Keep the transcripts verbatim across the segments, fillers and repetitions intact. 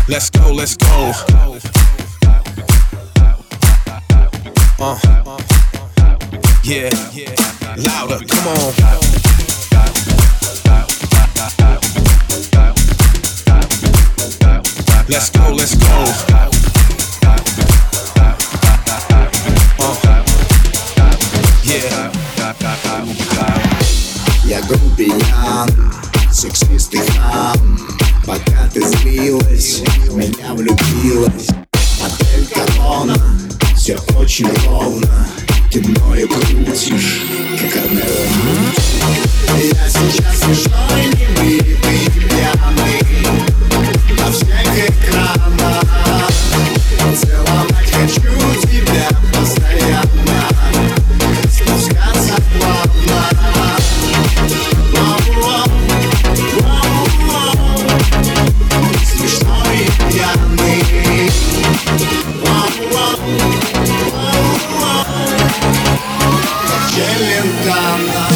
Let's go, let's go. Uh, yeah, louder, come on. Let's go, let's go. Uh, yeah. Я грубиян, сексист и хам. Пока ты злилась, в меня влюбилась. Отель Корона, все очень ровно. Ты мною крутишь, как Арнелла Мунч. Я сейчас смешной, небритый, пьяный на всех экранах. Целовать хочу тебя постоянно, спускаться плавно. Смешной и пьяный. Как Челентано.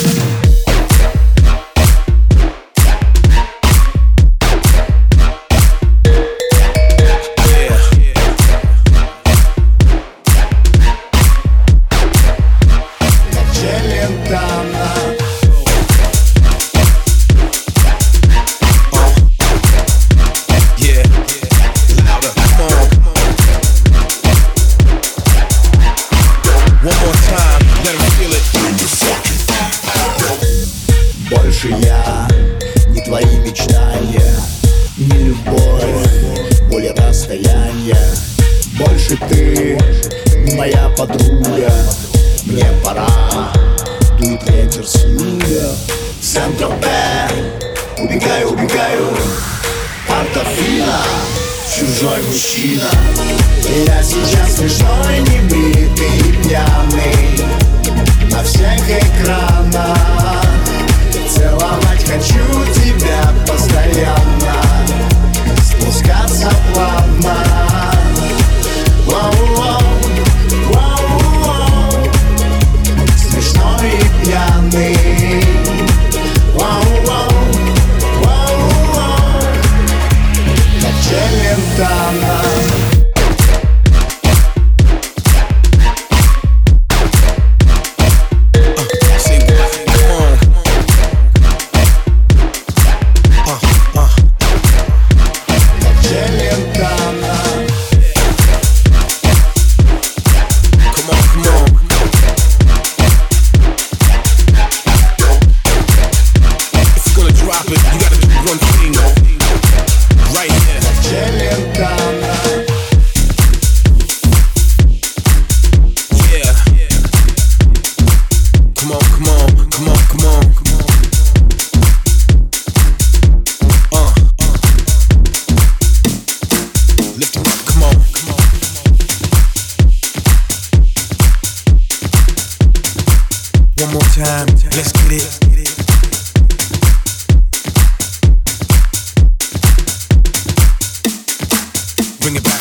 Больше я не твои мечтания, не любовь, боль расстояния. Больше ты не моя подруга. Мне пора, дует ветер с юга. Сент-Тропе, убегаю, убегаю. Портофино, чужой мужчина. И я сейчас смешной, небритый и пьяный на всех экранах. Целовать хочу тебя постоянно, спускаться плавно. Воу-воу, воу-воу. Смешной и пьяный. Воу-воу, воу-воу. Как Челентано. One more time, let's get it. Bring it back.